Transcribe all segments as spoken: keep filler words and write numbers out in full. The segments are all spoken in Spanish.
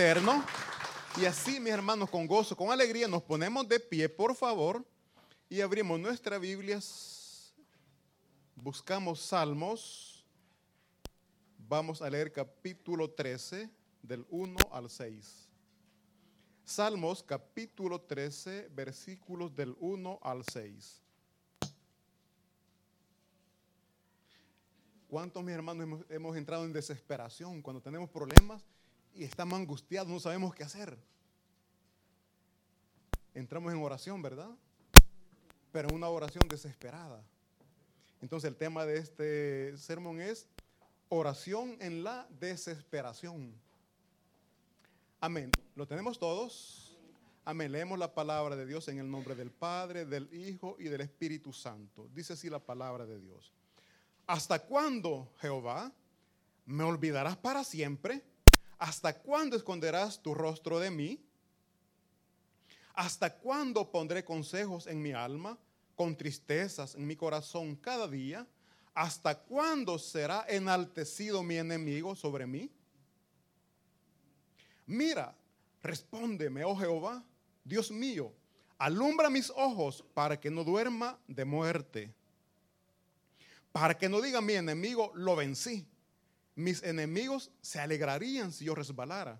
eterno. Y así, mis hermanos, con gozo, con alegría, nos ponemos de pie, por favor, y abrimos nuestras Biblias, buscamos Salmos, vamos a leer capítulo trece, del uno al seis. Salmos, capítulo trece, versículos del uno al seis. ¿Cuántos, mis hermanos, hemos, hemos entrado en desesperación cuando tenemos problemas y estamos angustiados, no sabemos qué hacer? Entramos en oración, ¿verdad? Pero en una oración desesperada. Entonces el tema de este sermón es oración en la desesperación. Amén. ¿Lo tenemos todos? Amén. Leemos la palabra de Dios en el nombre del Padre, del Hijo y del Espíritu Santo. Dice así la palabra de Dios. ¿Hasta cuándo, Jehová, me olvidarás para siempre? ¿Hasta cuándo esconderás tu rostro de mí? ¿Hasta cuándo pondré consejos en mi alma, con tristezas en mi corazón cada día? ¿Hasta cuándo será enaltecido mi enemigo sobre mí? Mira, respóndeme, oh Jehová, Dios mío, alumbra mis ojos para que no duerma de muerte, para que no diga mi enemigo, lo vencí. Mis enemigos se alegrarían si yo resbalara.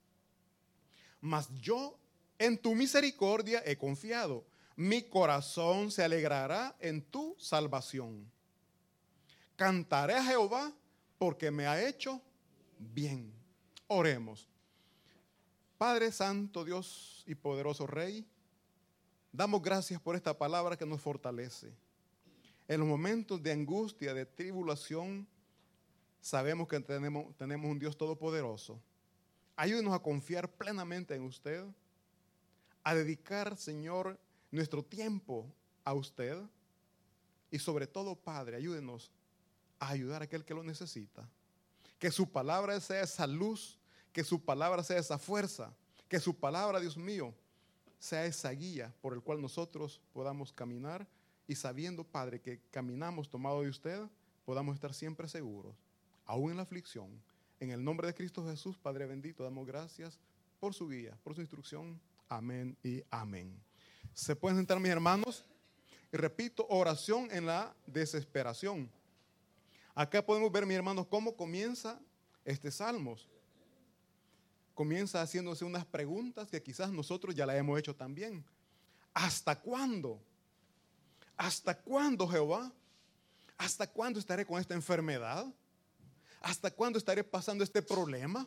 Mas yo en tu misericordia he confiado. Mi corazón se alegrará en tu salvación. Cantaré a Jehová porque me ha hecho bien. Oremos. Padre Santo, Dios y poderoso Rey, damos gracias por esta palabra que nos fortalece. En los momentos de angustia, de tribulación, sabemos que tenemos, tenemos un Dios todopoderoso. Ayúdenos a confiar plenamente en usted, a dedicar, Señor, nuestro tiempo a usted. Y sobre todo, Padre, ayúdenos a ayudar a aquel que lo necesita. Que su palabra sea esa luz, que su palabra sea esa fuerza, que su palabra, Dios mío, sea esa guía por el cual nosotros podamos caminar. Y sabiendo, Padre, que caminamos tomado de usted, podamos estar siempre seguros, aún en la aflicción. En el nombre de Cristo Jesús, Padre bendito, damos gracias por su guía, por su instrucción. Amén y amén. Se pueden sentar, mis hermanos. Y repito, oración en la desesperación. Acá podemos ver, mis hermanos, cómo comienza este Salmos. Comienza haciéndose unas preguntas que quizás nosotros ya las hemos hecho también. ¿Hasta cuándo? ¿Hasta cuándo, Jehová? ¿Hasta cuándo estaré con esta enfermedad? ¿Hasta cuándo estaré pasando este problema?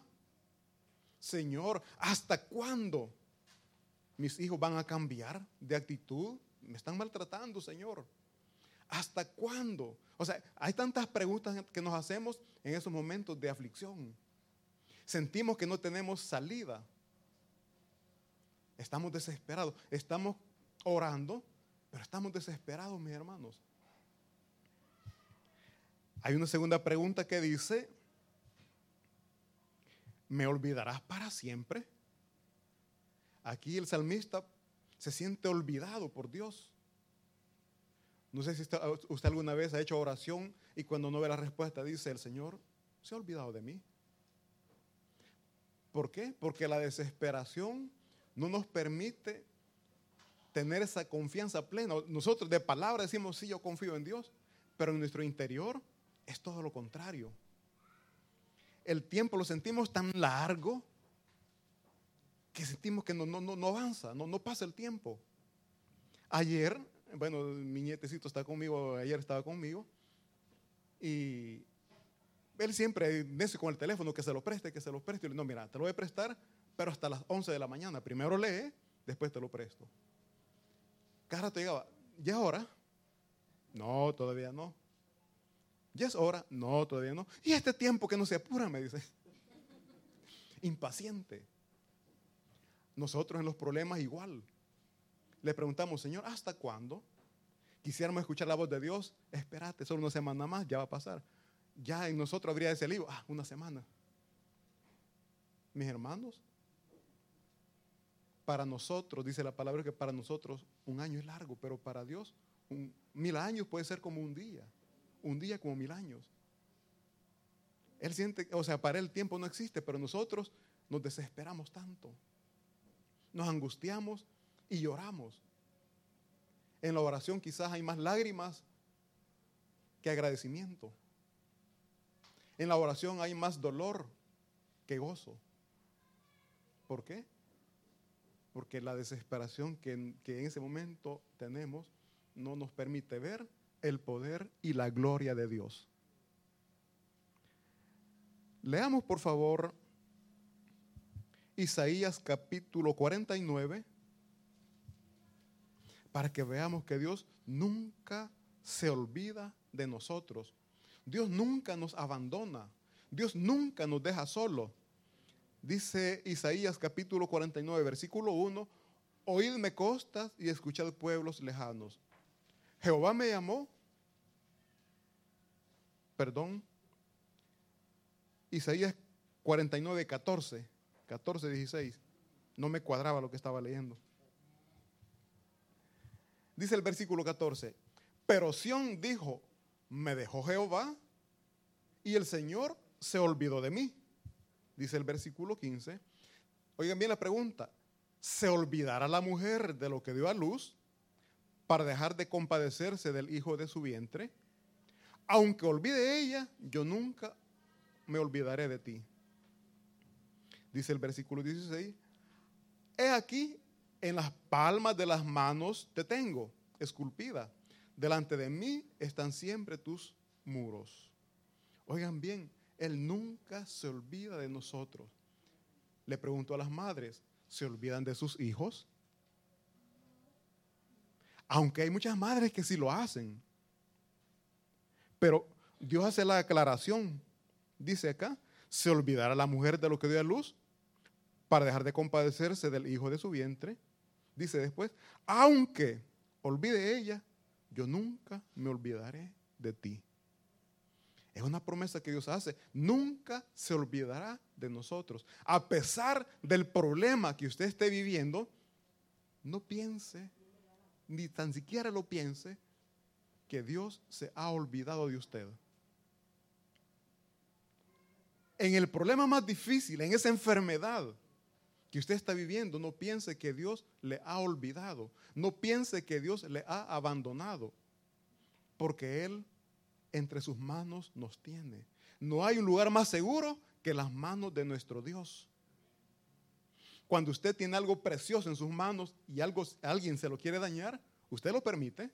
Señor, ¿hasta cuándo mis hijos van a cambiar de actitud? Me están maltratando, Señor. ¿Hasta cuándo? O sea, hay tantas preguntas que nos hacemos en esos momentos de aflicción. Sentimos que no tenemos salida. Estamos desesperados. Estamos orando, pero estamos desesperados, mis hermanos. Hay una segunda pregunta que dice, ¿me olvidarás para siempre? Aquí el salmista se siente olvidado por Dios. No sé si usted alguna vez ha hecho oración y cuando no ve la respuesta dice, el Señor se ha olvidado de mí. ¿Por qué? Porque la desesperación no nos permite tener esa confianza plena. Nosotros de palabra decimos, sí, yo confío en Dios, pero en nuestro interior es todo lo contrario. El tiempo lo sentimos tan largo que sentimos que no, no, no, no avanza, no, no pasa el tiempo. Ayer, bueno, mi nietecito está conmigo, ayer estaba conmigo, y él siempre dice con el teléfono que se lo preste, que se lo preste. Y le digo, no, mira, te lo voy a prestar, pero hasta las once de la mañana. Primero lee, después te lo presto. Cada rato llegaba, ¿ya es hora? No, todavía no. ¿Ya es hora? No, todavía no. ¿Y este tiempo que no se apura? Me dice. Impaciente. Nosotros en los problemas igual. Le preguntamos, Señor, ¿hasta cuándo? Quisiéramos escuchar la voz de Dios. Espérate, solo una semana más, ya va a pasar. Ya en nosotros habría ese libro, ah, una semana. Mis hermanos, para nosotros, dice la palabra que para nosotros un año es largo, pero para Dios un, mil años puede ser como un día. Un día como mil años. Él siente, o sea, para él el tiempo no existe, pero nosotros nos desesperamos tanto. Nos angustiamos y lloramos. En la oración quizás hay más lágrimas que agradecimiento. En la oración hay más dolor que gozo. ¿Por qué? Porque la desesperación que, que en ese momento tenemos no nos permite ver el poder y la gloria de Dios. Leamos por favor Isaías capítulo cuarenta y nueve para que veamos que Dios nunca se olvida de nosotros. Dios nunca nos abandona. Dios nunca nos deja solos. Dice Isaías capítulo cuarenta y nueve, versículo uno, oídme costas y escuchad pueblos lejanos. Jehová me llamó, perdón, Isaías cuarenta y nueve, catorce, catorce, dieciséis. No me cuadraba lo que estaba leyendo. Dice el versículo catorce, pero Sión dijo, me dejó Jehová y el Señor se olvidó de mí. Dice el versículo quince, oigan bien la pregunta, ¿se olvidará la mujer de lo que dio a luz para dejar de compadecerse del hijo de su vientre? Aunque olvide ella, yo nunca me olvidaré de ti. Dice el versículo dieciséis, he aquí en las palmas de las manos te tengo, esculpida, delante de mí están siempre tus muros. Oigan bien, Él nunca se olvida de nosotros. Le pregunto a las madres, ¿se olvidan de sus hijos? Aunque hay muchas madres que sí lo hacen. Pero Dios hace la aclaración. Dice acá, ¿se olvidará la mujer de lo que dio a luz para dejar de compadecerse del hijo de su vientre? Dice después, aunque olvide ella, yo nunca me olvidaré de ti. Es una promesa que Dios hace. Nunca se olvidará de nosotros. A pesar del problema que usted esté viviendo, no piense, ni tan siquiera lo piense, que Dios se ha olvidado de usted. En el problema más difícil, en esa enfermedad que usted está viviendo, no piense que Dios le ha olvidado. No piense que Dios le ha abandonado. Porque Él entre sus manos nos tiene. No hay un lugar más seguro que las manos de nuestro Dios. Cuando usted tiene algo precioso en sus manos y algo, alguien se lo quiere dañar, ¿usted lo permite?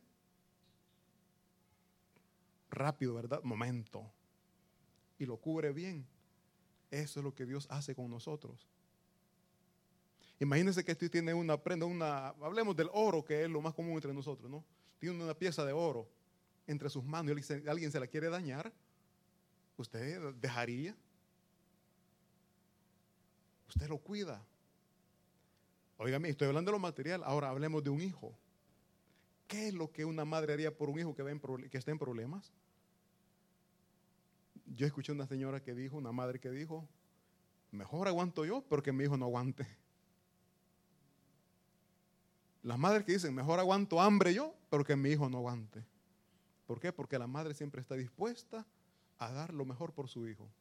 Rápido, ¿verdad? Momento. Y lo cubre bien. Eso es lo que Dios hace con nosotros. Imagínense que usted tiene una prenda, una, hablemos del oro, que es lo más común entre nosotros, ¿no? Tiene una pieza de oro entre sus manos y alguien se la quiere dañar, ¿usted dejaría? Usted lo cuida. Óigame, estoy hablando de lo material, ahora hablemos de un hijo. ¿Qué es lo que una madre haría por un hijo que, va en, que está en problemas? Yo escuché una señora que dijo, una madre que dijo, mejor aguanto yo, pero que mi hijo no aguante. Las madres que dicen, mejor aguanto hambre yo, pero que mi hijo no aguante. ¿Por qué? Porque la madre siempre está dispuesta a dar lo mejor por su hijo.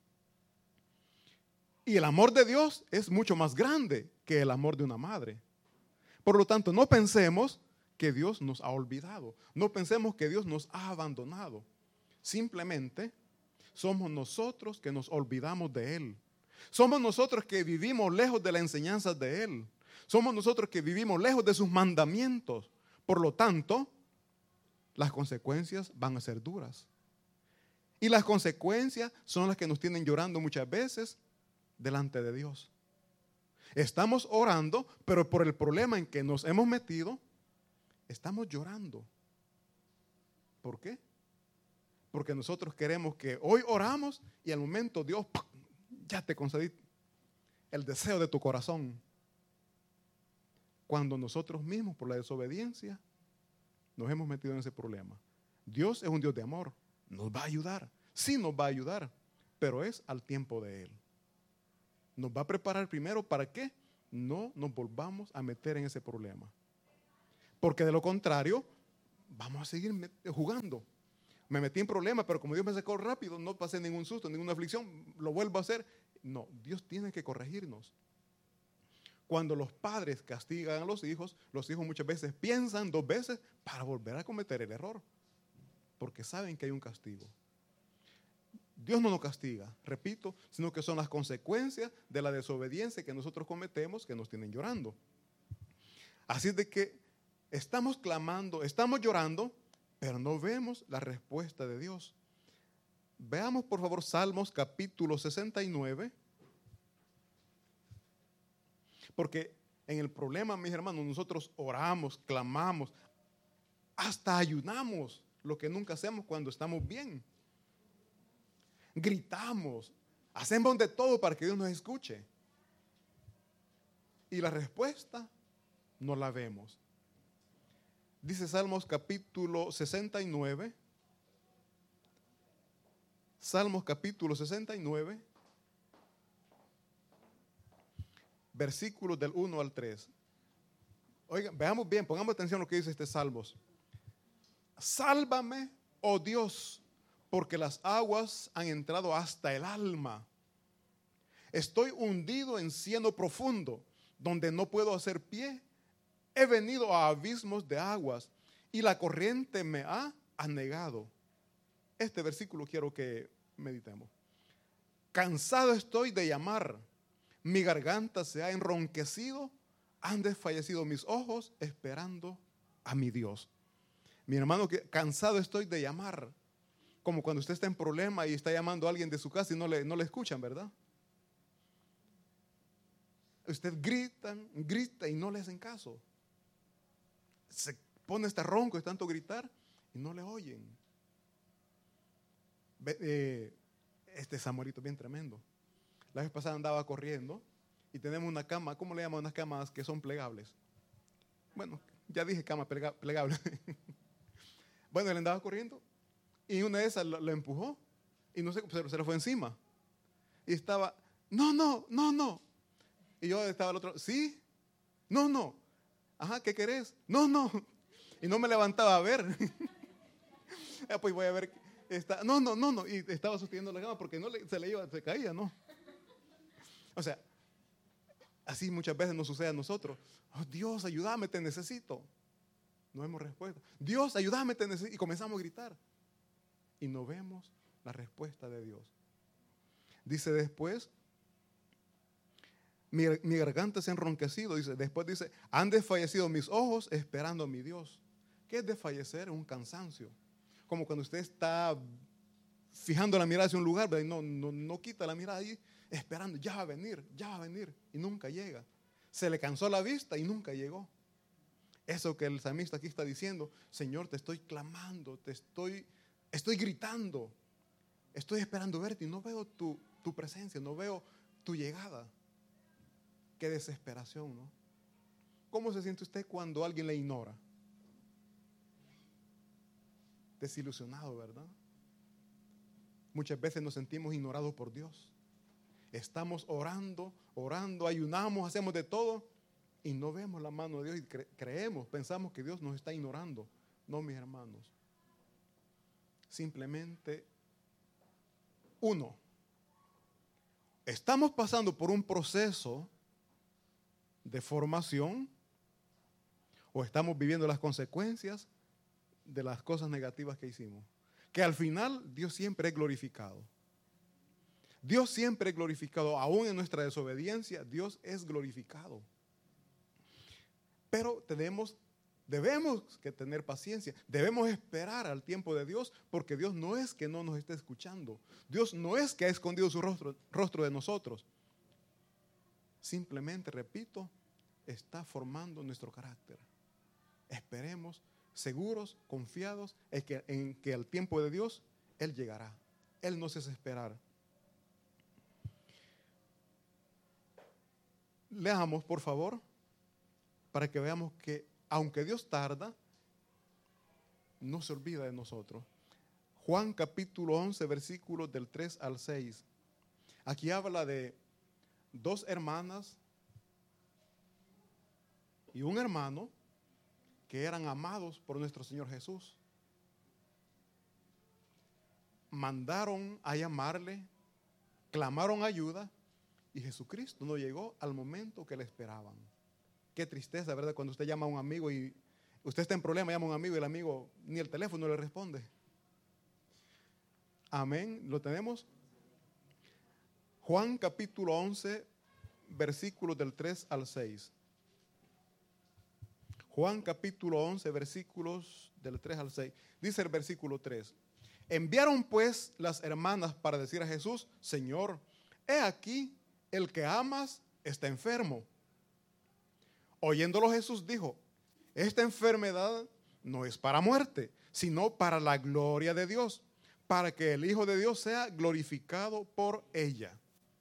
Y el amor de Dios es mucho más grande que el amor de una madre. Por lo tanto, no pensemos que Dios nos ha olvidado. No pensemos que Dios nos ha abandonado. Simplemente somos nosotros que nos olvidamos de Él. Somos nosotros que vivimos lejos de las enseñanzas de Él. Somos nosotros que vivimos lejos de sus mandamientos. Por lo tanto, las consecuencias van a ser duras. Y las consecuencias son las que nos tienen llorando muchas veces delante de Dios. Estamos orando, pero por el problema en que nos hemos metido, estamos llorando. ¿Por qué? Porque nosotros queremos que hoy oramos y al momento Dios ¡pum!, ya te concedí el deseo de tu corazón. Cuando nosotros mismos, por la desobediencia, nos hemos metido en ese problema. Dios es un Dios de amor. Nos va a ayudar. Sí nos va a ayudar. Pero es al tiempo de Él. Nos va a preparar primero para que no nos volvamos a meter en ese problema. Porque de lo contrario, vamos a seguir jugando. Me metí en problemas, pero como Dios me sacó rápido, no pasé ningún susto, ninguna aflicción, lo vuelvo a hacer No, Dios tiene que corregirnos. Cuando los padres castigan a los hijos, los hijos muchas veces piensan dos veces para volver a cometer el error, porque saben que hay un castigo. Dios no nos castiga, repito, sino que son las consecuencias de la desobediencia que nosotros cometemos que nos tienen llorando. Así de que estamos clamando, estamos llorando, pero no vemos la respuesta de Dios. Veamos por favor Salmos capítulo sesenta y nueve. Porque en el problema, mis hermanos, nosotros oramos, clamamos, hasta ayunamos, lo que nunca hacemos cuando estamos bien. Gritamos, hacemos de todo para que Dios nos escuche. Y la respuesta no la vemos. Dice Salmos capítulo sesenta y nueve. Salmos capítulo sesenta y nueve. Versículos del uno al tres. Oigan, veamos bien, pongamos atención a lo que dice este Salmos. Sálvame, oh Dios, porque las aguas han entrado hasta el alma. Estoy hundido en cieno profundo, donde no puedo hacer pie. He venido a abismos de aguas y la corriente me ha anegado. Este versículo quiero que meditemos. Cansado estoy de llamar. Mi garganta se ha enronquecido, han desfallecido mis ojos esperando a mi Dios. Mi hermano, que cansado estoy de llamar. Como cuando usted está en problema y está llamando a alguien de su casa y no le, no le escuchan, ¿verdad? Usted grita, grita y no le hacen caso. Se pone este ronco de tanto gritar y no le oyen. Eh, este Samuelito es bien tremendo. La vez pasada andaba corriendo y tenemos una cama, ¿cómo le llaman unas camas que son plegables? Bueno, ya dije cama plega, plegable. Bueno, él andaba corriendo y una de esas lo, lo empujó y no sé, se, se le fue encima. Y estaba, no, no, no, no. Y yo estaba al otro, sí, no, no. Ajá, ¿qué querés? No, no. Y no me levantaba a ver. Pues voy a ver. Está, no, no, no, no. Y estaba sosteniendo la cama porque no le, se le iba, se caía, ¿no? O sea, así muchas veces nos sucede a nosotros. Oh, Dios, ayúdame, te necesito. No vemos respuesta. Dios, ayúdame, te necesito. Y comenzamos a gritar. Y no vemos la respuesta de Dios. Dice después, mi, mi garganta se ha enronquecido. Dice, después dice, han desfallecido mis ojos esperando a mi Dios. ¿Qué es desfallecer? Es un cansancio. Como cuando usted está fijando la mirada hacia un lugar, y no, no, no quita la mirada ahí, esperando, ya va a venir, ya va a venir, y nunca llega. Se le cansó la vista y nunca llegó. Eso que el salmista aquí está diciendo, Señor, te estoy clamando, te estoy, estoy gritando, estoy esperando verte y no veo tu, tu presencia, no veo tu llegada. Qué desesperación, ¿no? ¿Cómo se siente usted cuando alguien le ignora? Desilusionado, ¿verdad? Muchas veces nos sentimos ignorados por Dios. Estamos orando, orando, ayunamos, hacemos de todo y no vemos la mano de Dios y cre- creemos, pensamos que Dios nos está ignorando. No, mis hermanos. Simplemente, uno, estamos pasando por un proceso de formación o estamos viviendo las consecuencias de las cosas negativas que hicimos. Que al final Dios siempre es glorificado. Dios siempre es glorificado, aún en nuestra desobediencia, Dios es glorificado. Pero tenemos, debemos que tener paciencia, debemos esperar al tiempo de Dios, porque Dios no es que no nos esté escuchando, Dios no es que ha escondido su rostro, rostro de nosotros. Simplemente, repito, está formando nuestro carácter. Esperemos seguros, confiados en que, en que al tiempo de Dios Él llegará. Él nos hace esperar. Leamos, por favor, para que veamos que aunque Dios tarda, no se olvida de nosotros. Juan capítulo once, versículos del tres al seis. Aquí habla de dos hermanas y un hermano que eran amados por nuestro Señor Jesús. Mandaron a llamarle, clamaron ayuda Y Jesucristo no llegó al momento que le esperaban. Qué tristeza, ¿verdad? Cuando usted llama a un amigo y usted está en problema, llama a un amigo y el amigo ni el teléfono le responde. Amén. ¿Lo tenemos? Juan capítulo once, versículos del tres al seis. Juan capítulo once, versículos del tres al seis. Dice el versículo tres. Enviaron pues las hermanas para decir a Jesús: Señor, he aquí el que amas está enfermo. Oyéndolo Jesús dijo: esta enfermedad no es para muerte, sino para la gloria de Dios, para que el Hijo de Dios sea glorificado por ella.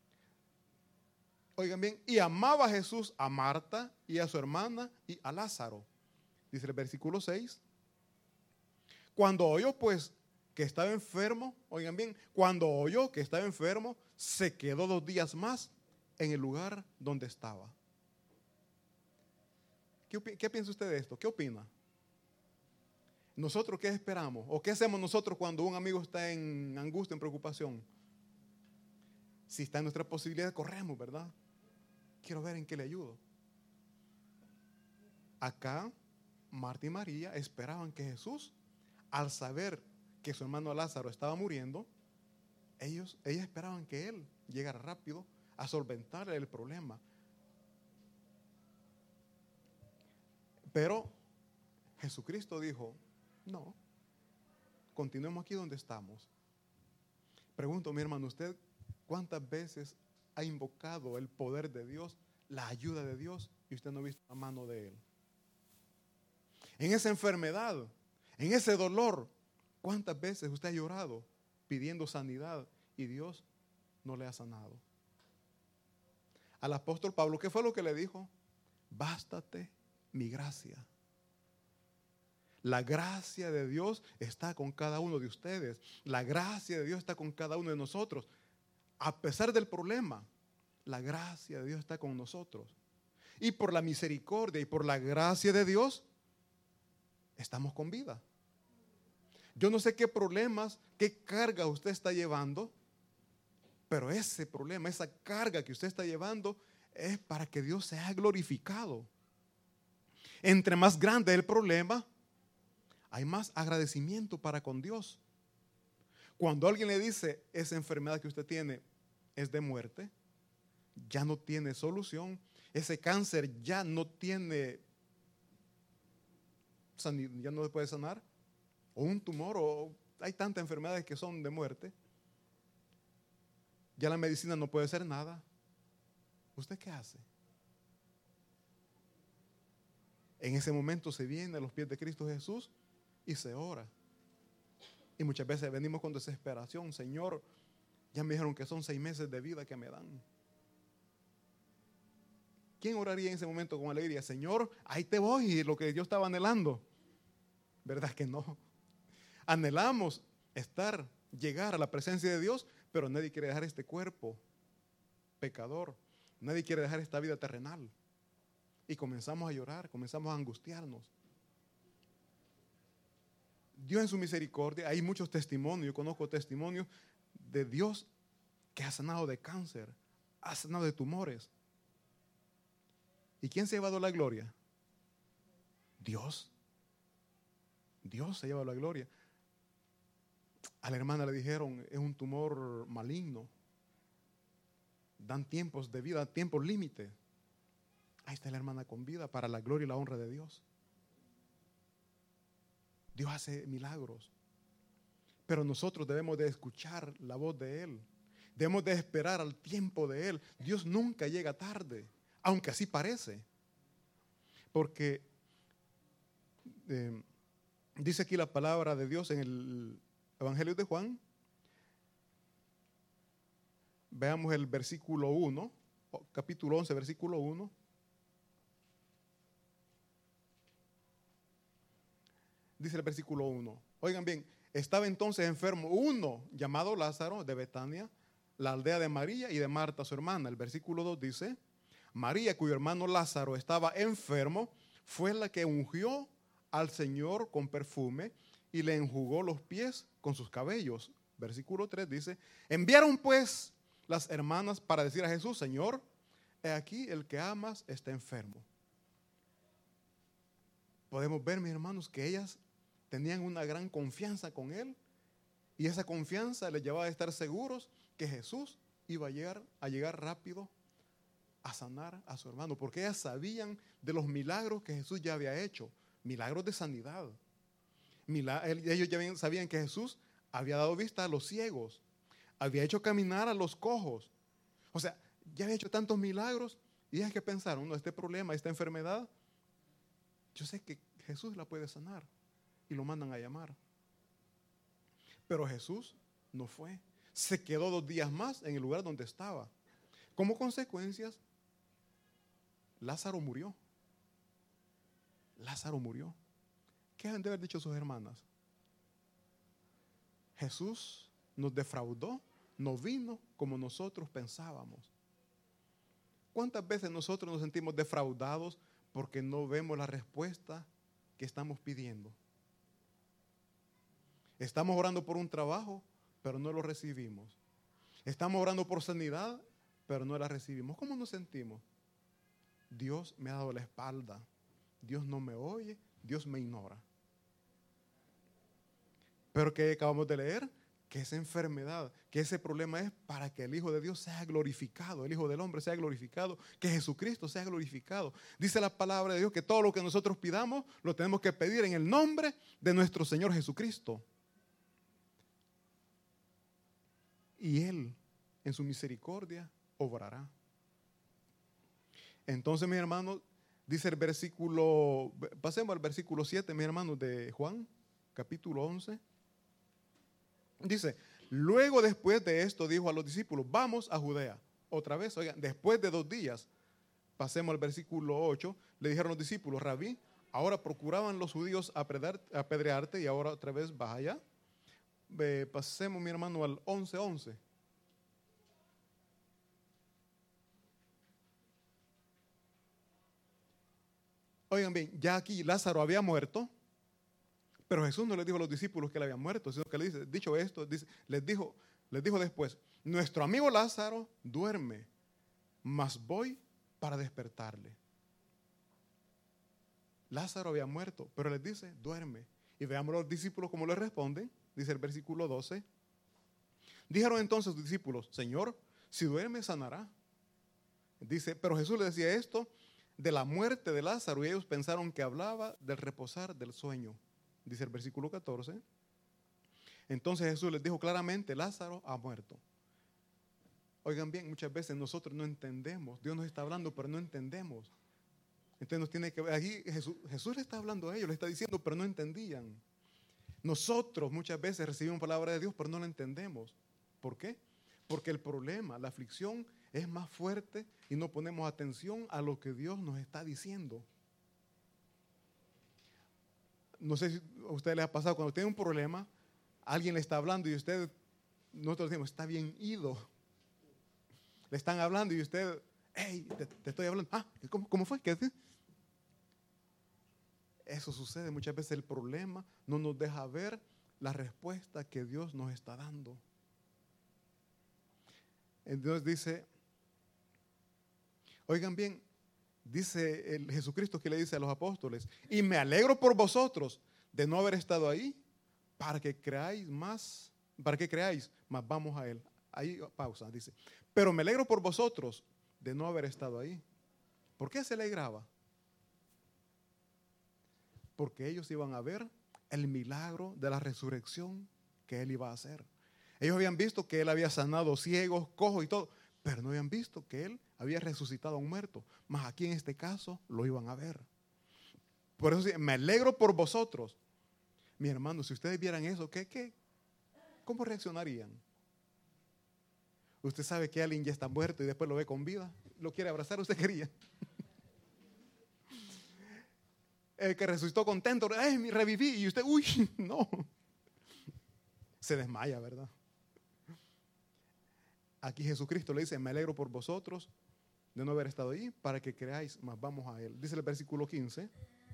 Oigan bien, y amaba Jesús a Marta y a su hermana y a Lázaro. Dice el versículo seis. Cuando oyó pues que estaba enfermo, oigan bien, cuando oyó que estaba enfermo, se quedó dos días más en el lugar donde estaba. ¿Qué, qué piensa usted de esto? ¿Qué opina? ¿Nosotros qué esperamos? ¿O qué hacemos nosotros cuando un amigo está en angustia, en preocupación? Si está en nuestra posibilidad, corremos, ¿verdad? Quiero ver en qué le ayudo. Acá, Marta y María esperaban que Jesús, al saber que su hermano Lázaro estaba muriendo, ellos, ellas esperaban que Él llegara rápido a solventar el problema. Pero Jesucristo dijo: no, continuemos aquí donde estamos. Pregunto, mi hermano, ¿usted cuántas veces ha invocado el poder de Dios, la ayuda de Dios, y usted no ha visto la mano de Él? En esa enfermedad, en ese dolor, ¿cuántas veces usted ha llorado pidiendo sanidad y Dios no le ha sanado? Al apóstol Pablo, ¿qué fue lo que le dijo? Bástate mi gracia. La gracia de Dios está con cada uno de ustedes. La gracia de Dios está con cada uno de nosotros. A pesar del problema, la gracia de Dios está con nosotros. Y por la misericordia y por la gracia de Dios, estamos con vida. Yo no sé qué problemas, qué carga usted está llevando, pero ese problema, esa carga que usted está llevando es para que Dios sea glorificado. Entre más grande el problema, hay más agradecimiento para con Dios. Cuando alguien le dice: esa enfermedad que usted tiene es de muerte, ya no tiene solución, ese cáncer ya no tiene, ya no se puede sanar, o un tumor, o hay tantas enfermedades que son de muerte, ya la medicina no puede hacer nada. ¿Usted qué hace? En ese momento se viene a los pies de Cristo Jesús y se ora. Y muchas veces venimos con desesperación: Señor, ya me dijeron que son seis meses de vida que me dan. ¿Quién oraría en ese momento con alegría? Señor, ahí te voy, lo que yo estaba anhelando. ¿Verdad que no? Anhelamos estar, llegar a la presencia de Dios, pero nadie quiere dejar este cuerpo pecador. Nadie quiere dejar esta vida terrenal. Y comenzamos a llorar, comenzamos a angustiarnos. Dios en su misericordia, hay muchos testimonios, yo conozco testimonios de Dios que ha sanado de cáncer, ha sanado de tumores. ¿Y quién se ha llevado la gloria? Dios. Dios se ha llevado la gloria. A la hermana le dijeron: es un tumor maligno. Dan tiempos de vida, tiempos límite. Ahí está la hermana con vida para la gloria y la honra de Dios. Dios hace milagros. Pero nosotros debemos de escuchar la voz de Él. Debemos de esperar al tiempo de Él. Dios nunca llega tarde, aunque así parece. Porque eh, dice aquí la palabra de Dios en el Evangelio de Juan. Veamos el versículo uno, capítulo once, versículo uno. Dice el versículo uno. Oigan bien, estaba entonces enfermo uno llamado Lázaro de Betania, la aldea de María y de Marta su hermana. El versículo dos dice: María, cuyo hermano Lázaro estaba enfermo, fue la que ungió al Señor con perfume y le enjugó los pies con sus cabellos. Versículo tres dice: enviaron pues las hermanas para decir a Jesús: Señor, he aquí el que amas está enfermo. Podemos ver, mis hermanos, que ellas tenían una gran confianza con Él, y esa confianza les llevaba a estar seguros que Jesús iba a llegar, a llegar rápido a sanar a su hermano, porque ellas sabían de los milagros que Jesús ya había hecho, milagros de sanidad. Ellos ya sabían que Jesús había dado vista a los ciegos, había hecho caminar a los cojos. O sea, ya había hecho tantos milagros, y es que pensaron: no, este problema, esta enfermedad, yo sé que Jesús la puede sanar, y lo mandan a llamar. Pero Jesús no fue, se quedó dos días más en el lugar donde estaba. Como consecuencias, Lázaro murió. Lázaro murió. ¿Qué han de haber dicho sus hermanas? Jesús nos defraudó, no vino como nosotros pensábamos. ¿Cuántas veces nosotros nos sentimos defraudados porque no vemos la respuesta que estamos pidiendo? Estamos orando por un trabajo, pero no lo recibimos. Estamos orando por sanidad, pero no la recibimos. ¿Cómo nos sentimos? Dios me ha dado la espalda. Dios no me oye, Dios me ignora. Pero que acabamos de leer, que esa enfermedad, que ese problema es para que el Hijo de Dios sea glorificado, el Hijo del Hombre sea glorificado, que Jesucristo sea glorificado. Dice la palabra de Dios que todo lo que nosotros pidamos lo tenemos que pedir en el nombre de nuestro Señor Jesucristo. Y Él, en su misericordia, obrará. Entonces, mis hermanos, dice el versículo, pasemos al versículo siete, mis hermanos, de Juan, capítulo once. Dice: luego, después de esto, dijo a los discípulos: vamos a Judea. Otra vez, oigan, después de dos días, pasemos al versículo ocho, le dijeron los discípulos: Rabí, ahora procuraban los judíos apedrearte, y ahora otra vez vas allá. Eh, pasemos, mi hermano, al once once. Oigan bien, ya aquí Lázaro había muerto, pero Jesús no les dijo a los discípulos que él había muerto, sino que le dice, dicho esto, dice, les dijo, les dijo después: nuestro amigo Lázaro duerme, mas voy para despertarle. Lázaro había muerto, pero les dice: duerme. Y veamos los discípulos cómo le responden. Dice el versículo doce. Dijeron entonces los discípulos: Señor, si duerme, sanará. Dice, pero Jesús le decía esto de la muerte de Lázaro, y ellos pensaron que hablaba del reposar del sueño. Dice el versículo catorce. Entonces Jesús les dijo claramente: Lázaro ha muerto. Oigan bien, muchas veces nosotros no entendemos. Dios nos está hablando, pero no entendemos. Entonces nos tiene que ver. Aquí Jesús, Jesús le está hablando a ellos, le está diciendo, pero no entendían. Nosotros muchas veces recibimos palabra de Dios, pero no la entendemos. ¿Por qué? Porque el problema, la aflicción, es más fuerte y no ponemos atención a lo que Dios nos está diciendo. No sé si a usted le ha pasado, cuando tiene un problema, alguien le está hablando y usted, nosotros decimos, está bien ido. Le están hablando y usted, hey, te, te estoy hablando. Ah, ¿cómo, cómo fue? ¿Qué decís? Eso sucede muchas veces. El problema no nos deja ver la respuesta que Dios nos está dando. Entonces dice, oigan bien, dice el Jesucristo que le dice a los apóstoles: y me alegro por vosotros de no haber estado ahí, para que creáis más, para que creáis, más vamos a Él. Ahí pausa, dice, pero me alegro por vosotros de no haber estado ahí. ¿Por qué se alegraba? Porque ellos iban a ver el milagro de la resurrección que Él iba a hacer. Ellos habían visto que Él había sanado ciegos, cojos y todo, pero no habían visto que Él había resucitado a un muerto. Mas aquí en este caso lo iban a ver. Por eso me alegro por vosotros. Mi hermano, si ustedes vieran eso, ¿qué, qué? ¿Cómo reaccionarían? Usted sabe que alguien ya está muerto y después lo ve con vida. ¿Lo quiere abrazar? ¿Usted quería? El que resucitó contento, ¡ay, me reviví! Y usted, ¡uy! No. Se desmaya, ¿verdad? Aquí Jesucristo le dice: me alegro por vosotros de no haber estado ahí, para que creáis, más vamos a Él. Dice el versículo quince.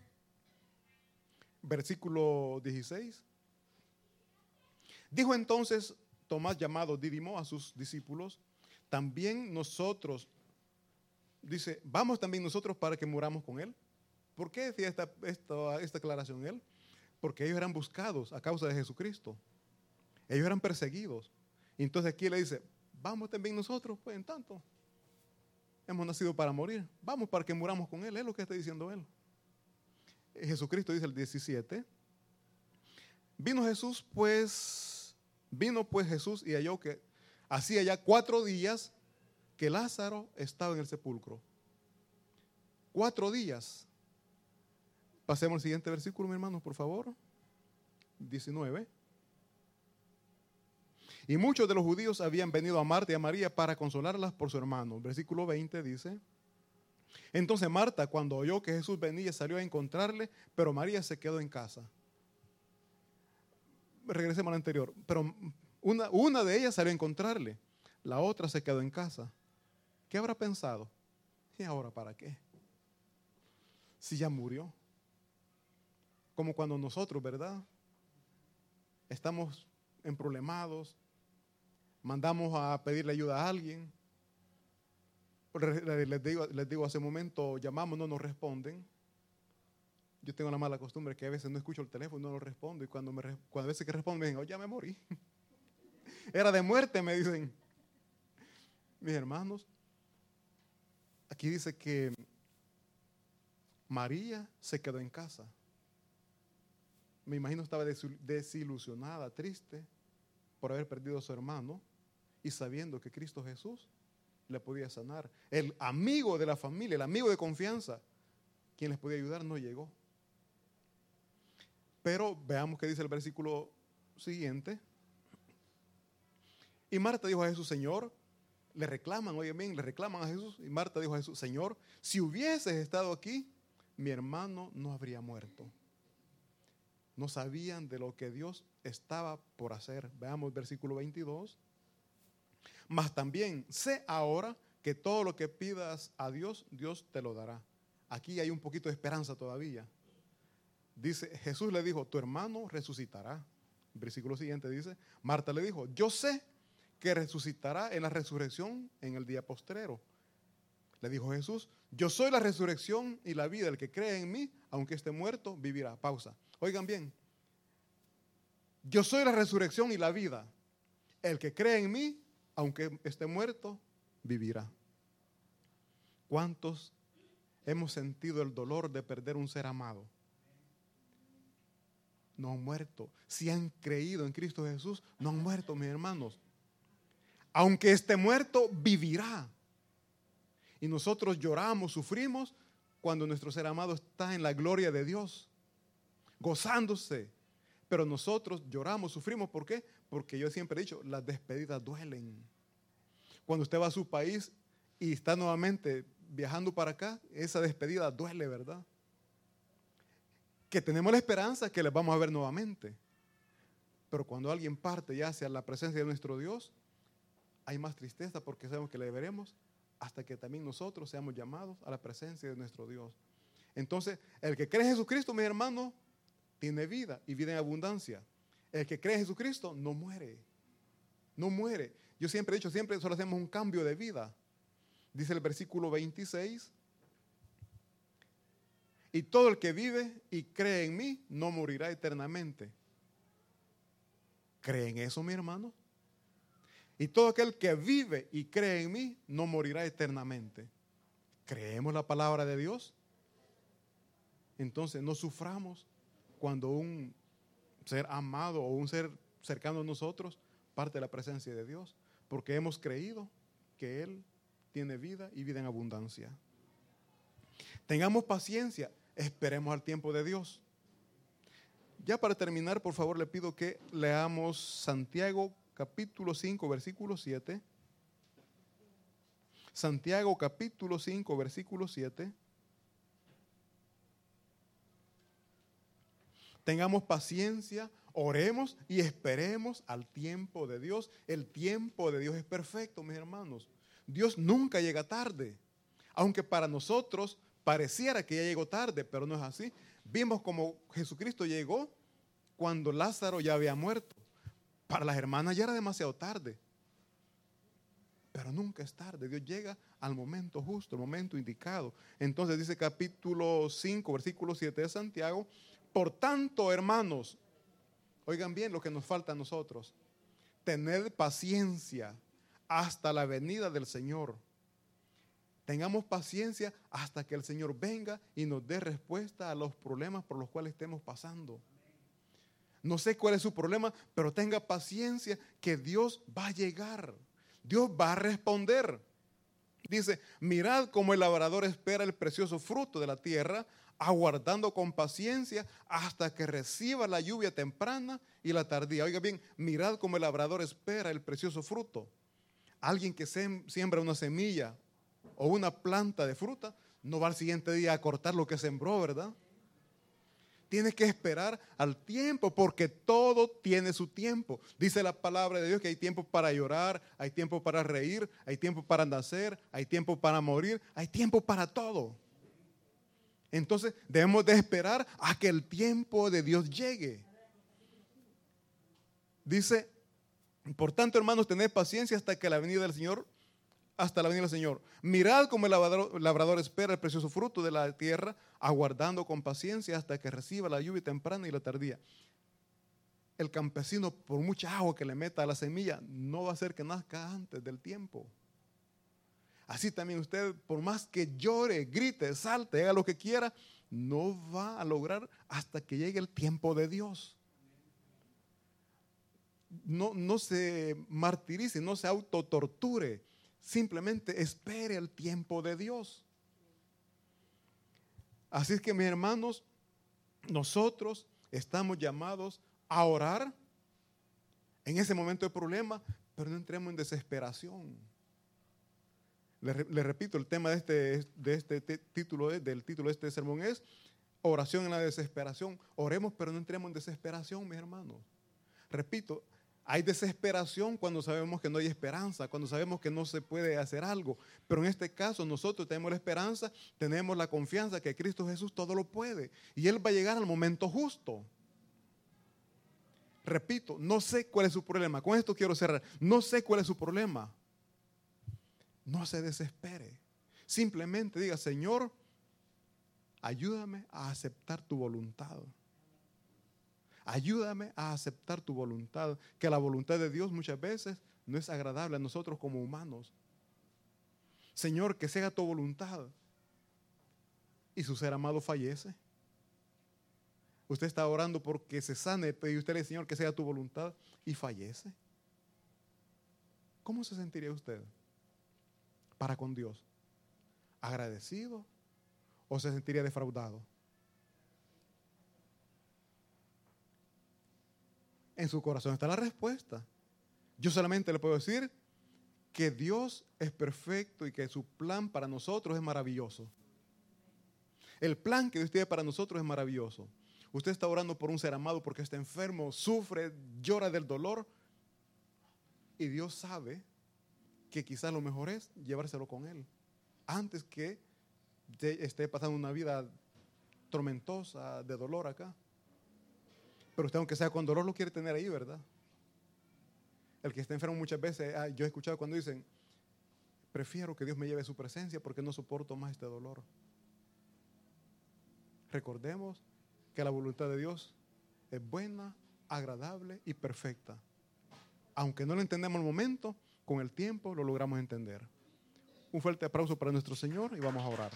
Versículo dieciséis. Dijo entonces Tomás, llamado Dídimo, a sus discípulos: también nosotros, dice, vamos también nosotros para que muramos con Él. ¿Por qué decía esta, esta, esta aclaración Él? Porque ellos eran buscados a causa de Jesucristo. Ellos eran perseguidos. Y entonces aquí le dice, vamos también nosotros, pues en tanto. Hemos nacido para morir. Vamos para que muramos con Él. Es lo que está diciendo Él. Jesucristo dice el diecisiete. Vino Jesús, pues, vino pues Jesús y halló que hacía ya cuatro días que Lázaro estaba en el sepulcro. Cuatro días. Pasemos al siguiente versículo, mi hermano, por favor. diecinueve. Y muchos de los judíos habían venido a Marta y a María para consolarlas por su hermano. Versículo veinte dice. Entonces Marta, cuando oyó que Jesús venía, salió a encontrarle, pero María se quedó en casa. Regresemos al anterior. Pero una, una de ellas salió a encontrarle, la otra se quedó en casa. ¿Qué habrá pensado? ¿Y ahora para qué? Si ya murió. Como cuando nosotros, ¿verdad? Estamos emproblemados, mandamos a pedirle ayuda a alguien. Les digo, les digo hace un momento, llamamos, no nos responden. Yo tengo la mala costumbre que a veces no escucho el teléfono y no lo respondo. Y cuando, me, cuando a veces que respondo me dicen, oh, ya me morí. Era de muerte, me dicen. Mis hermanos, aquí dice que María se quedó en casa. Me imagino estaba desilusionada, triste por haber perdido a su hermano y sabiendo que Cristo Jesús le podía sanar. El amigo de la familia, el amigo de confianza, quien les podía ayudar, no llegó. Pero veamos qué dice el versículo siguiente. Y Marta dijo a Jesús, Señor, le reclaman, oye bien, le reclaman a Jesús. Y Marta dijo a Jesús, Señor, si hubieses estado aquí, mi hermano no habría muerto. No sabían de lo que Dios estaba por hacer. Veamos el versículo veintidós. Mas también sé ahora que todo lo que pidas a Dios, Dios te lo dará. Aquí hay un poquito de esperanza todavía. Dice, Jesús le dijo, tu hermano resucitará. El versículo siguiente dice, Marta le dijo, yo sé que resucitará en la resurrección en el día postrero. Le dijo Jesús, yo soy la resurrección y la vida. El que cree en mí, aunque esté muerto, vivirá. Pausa. Oigan bien. Yo soy la resurrección y la vida. El que cree en mí, aunque esté muerto, vivirá. ¿Cuántos hemos sentido el dolor de perder un ser amado? No han muerto. Si han creído en Cristo Jesús, no han muerto, mis hermanos. Aunque esté muerto, vivirá. Y nosotros lloramos, sufrimos cuando nuestro ser amado está en la gloria de Dios, gozándose. Pero nosotros lloramos, sufrimos. ¿Por qué? Porque yo siempre he dicho, las despedidas duelen. Cuando usted va a su país y está nuevamente viajando para acá, esa despedida duele, ¿verdad? Que tenemos la esperanza que les vamos a ver nuevamente. Pero cuando alguien parte ya hacia la presencia de nuestro Dios, hay más tristeza porque sabemos que le veremos hasta que también nosotros seamos llamados a la presencia de nuestro Dios. Entonces, el que cree en Jesucristo, mis hermanos, tiene vida y vida en abundancia. El que cree en Jesucristo no muere. No muere. Yo siempre he dicho, siempre solo hacemos un cambio de vida. Dice el versículo veintiséis. Y todo el que vive y cree en mí no morirá eternamente. ¿Creen eso, mi hermano? Y todo aquel que vive y cree en mí no morirá eternamente. ¿Creemos la palabra de Dios? Entonces no suframos cuando un ser amado o un ser cercano a nosotros parte de la presencia de Dios, porque hemos creído que Él tiene vida y vida en abundancia. Tengamos paciencia, esperemos al tiempo de Dios. Ya para terminar, por favor, le pido que leamos Santiago capítulo cinco, versículo siete. Santiago capítulo cinco, versículo siete. Tengamos paciencia, oremos y esperemos al tiempo de Dios. El tiempo de Dios es perfecto, mis hermanos. Dios nunca llega tarde. Aunque para nosotros pareciera que ya llegó tarde, pero no es así. Vimos como Jesucristo llegó cuando Lázaro ya había muerto. Para las hermanas ya era demasiado tarde. Pero nunca es tarde. Dios llega al momento justo, el momento indicado. Entonces dice capítulo cinco, versículo siete de Santiago: por tanto, hermanos, oigan bien lo que nos falta a nosotros: tened paciencia hasta la venida del Señor. Tengamos paciencia hasta que el Señor venga y nos dé respuesta a los problemas por los cuales estemos pasando. No sé cuál es su problema, pero tenga paciencia que Dios va a llegar. Dios va a responder. Dice: mirad cómo el labrador espera el precioso fruto de la tierra, aguardando con paciencia hasta que reciba la lluvia temprana y la tardía. Oiga bien, mirad cómo el labrador espera el precioso fruto. Alguien que siembra una semilla o una planta de fruta no va al siguiente día a cortar lo que sembró, ¿verdad? Tiene que esperar al tiempo, porque todo tiene su tiempo. Dice la palabra de Dios que hay tiempo para llorar, hay tiempo para reír, hay tiempo para nacer, hay tiempo para morir, hay tiempo para todo. Entonces debemos de esperar a que el tiempo de Dios llegue. Dice: por tanto, hermanos, tened paciencia hasta que la venida del Señor, hasta la venida del Señor. Mirad cómo el labrador, labrador espera el precioso fruto de la tierra, aguardando con paciencia hasta que reciba la lluvia temprana y la tardía. El campesino, por mucha agua que le meta a la semilla, no va a hacer que nazca antes del tiempo. Así también usted, por más que llore, grite, salte, haga lo que quiera, no va a lograr hasta que llegue el tiempo de Dios. No, no se martirice, no se autotorture. Simplemente espere el tiempo de Dios. Así es que, mis hermanos, nosotros estamos llamados a orar en ese momento de problema, pero no entremos en desesperación. Le, le repito, el tema de este, de este título, del título de este sermón es oración en la desesperación. Oremos, pero no entremos en desesperación, mis hermanos. Repito, hay desesperación cuando sabemos que no hay esperanza, cuando sabemos que no se puede hacer algo. Pero en este caso nosotros tenemos la esperanza, tenemos la confianza que Cristo Jesús todo lo puede. Y Él va a llegar al momento justo. Repito, no sé cuál es su problema. Con esto quiero cerrar. No sé cuál es su problema. No se desespere. Simplemente diga: Señor, ayúdame a aceptar tu voluntad. Ayúdame a aceptar tu voluntad, que la voluntad de Dios muchas veces no es agradable a nosotros como humanos. Señor, que sea tu voluntad. Y su ser amado fallece. Usted está orando porque se sane, y usted le dice: Señor, que sea tu voluntad, y fallece. ¿Cómo se sentiría usted para con Dios? ¿Agradecido o se sentiría defraudado? En su corazón está la respuesta. Yo solamente le puedo decir que Dios es perfecto y que su plan para nosotros es maravilloso. El plan que Dios tiene para nosotros es maravilloso. Usted está orando por un ser amado porque está enfermo, sufre, llora del dolor, y Dios sabe que quizás lo mejor es llevárselo con Él antes que esté pasando una vida tormentosa de dolor acá. Pero usted, aunque sea con dolor, lo quiere tener ahí, ¿verdad? El que está enfermo muchas veces, ah, yo he escuchado cuando dicen: prefiero que Dios me lleve a su presencia porque no soporto más este dolor. Recordemos que la voluntad de Dios es buena, agradable y perfecta. Aunque no lo entendemos al momento, con el tiempo lo logramos entender. Un fuerte aplauso para nuestro Señor y vamos a orar.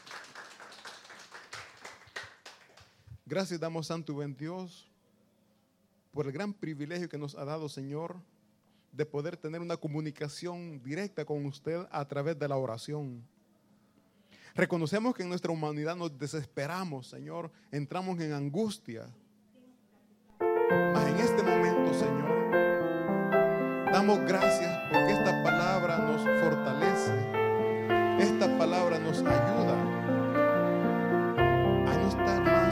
Gracias damos, Santo y buen Dios, por el gran privilegio que nos ha dado, Señor, de poder tener una comunicación directa con usted a través de la oración. Reconocemos que en nuestra humanidad nos desesperamos, Señor, entramos en angustia. Mas en este momento, Señor, damos gracias porque esta palabra nos fortalece, esta palabra nos ayuda a no estar más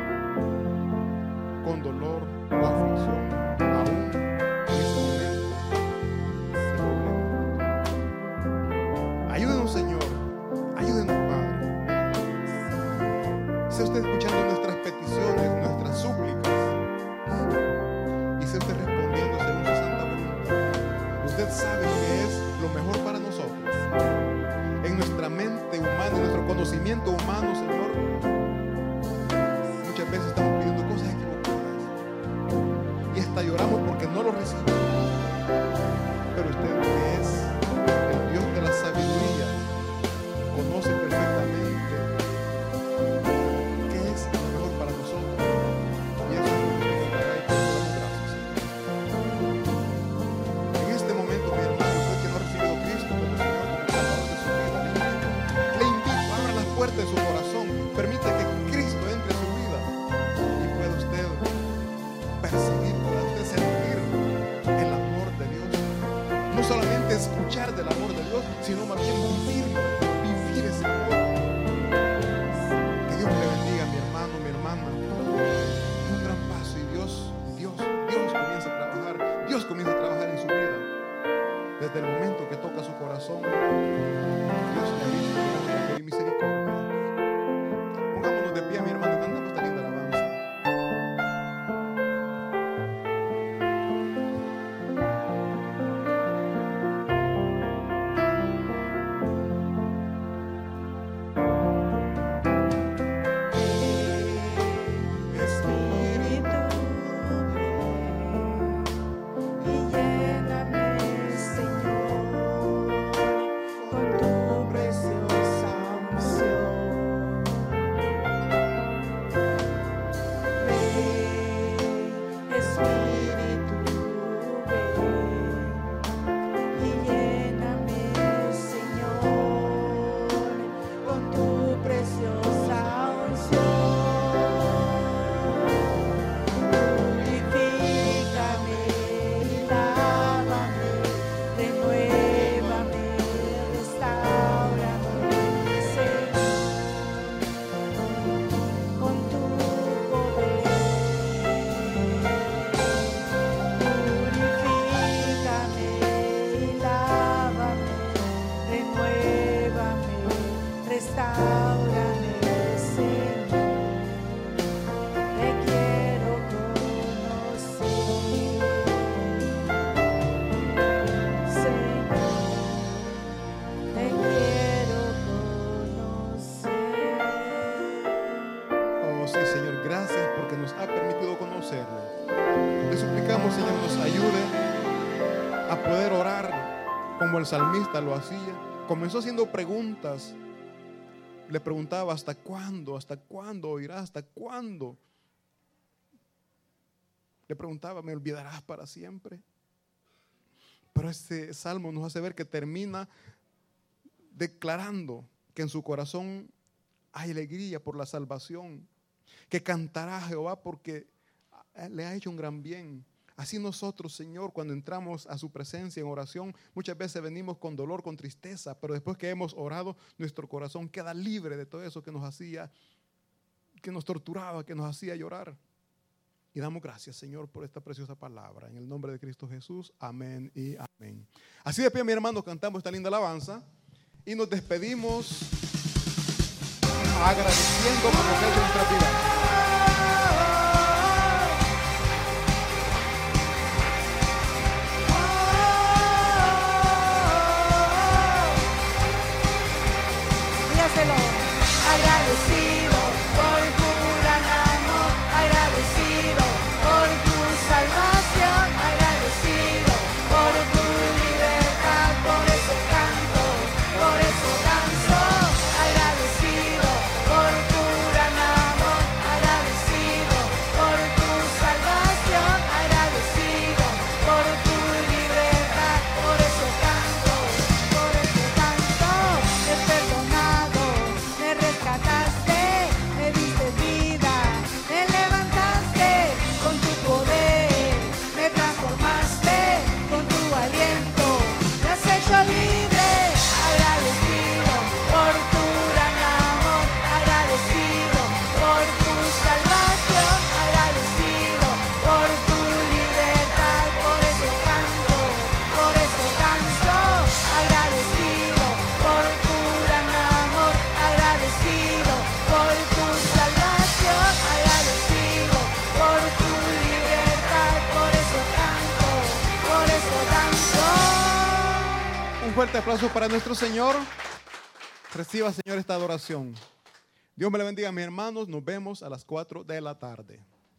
con dolor o aflicción, aún en este momento. Ayúdenos, Señor, ayúdenos, Padre. Sea usted escuchando nuestras peticiones, nuestras súplicas, y sea usted respondiendo según su santa voluntad. Usted sabe que es lo mejor para nosotros. En nuestra mente humana, en nuestro conocimiento humano, Señor, muchas veces estamos pidiendo cosas equivocadas y hasta lloramos porque no lo recibimos. Pero usted, que es el Dios de la sabiduría, conoce perfectamente qué es lo mejor para nosotros, y eso es lo que nos dará, y por eso damos gracias, Señor. En este momento, mi hermano, usted que no ha recibido a Cristo como Señor, como Salvador de su vida, le invito, abra las puertas de su corazón, permita que Cristo entre a su vida y pueda usted percibir, pueda usted sentir el amor de Dios. No solamente escuchar del amor de Dios, sino más bien vivirlo, vivir ese amor. Que Dios le bendiga, mi hermano, mi hermana. Un gran paso, y Dios, Dios, Dios comienza a trabajar, Dios comienza a trabajar en su vida. Desde el momento que toca su corazón, Dios le ha visto amor y misericordia. Pongámonos de pie, mi hermano, y cantamos esta linda alabanza. Como el salmista lo hacía, comenzó haciendo preguntas. Le preguntaba: ¿hasta cuándo? ¿Hasta cuándo oirás? ¿Hasta cuándo? Le preguntaba: ¿me olvidarás para siempre? Pero este salmo nos hace ver que termina declarando que en su corazón hay alegría por la salvación, que cantará a Jehová porque le ha hecho un gran bien. Así nosotros, Señor, cuando entramos a su presencia en oración, muchas veces venimos con dolor, con tristeza, pero después que hemos orado, nuestro corazón queda libre de todo eso que nos hacía, que nos torturaba, que nos hacía llorar. Y damos gracias, Señor, por esta preciosa palabra. En el nombre de Cristo Jesús, amén y amén. Así de pie, mi hermano, cantamos esta linda alabanza y nos despedimos agradeciendo por lo que ha hecho en nuestra vida. Agradecido por tu gran amor, agradecido por tu salvación, agradecido por tu libertad, por eso canto, por eso danzo, agradecido por tu gran amor, Un fuerte aplauso para nuestro Señor. Reciba, Señor, esta adoración. Dios me le bendiga, mis hermanos. Nos vemos a las cuatro de la tarde.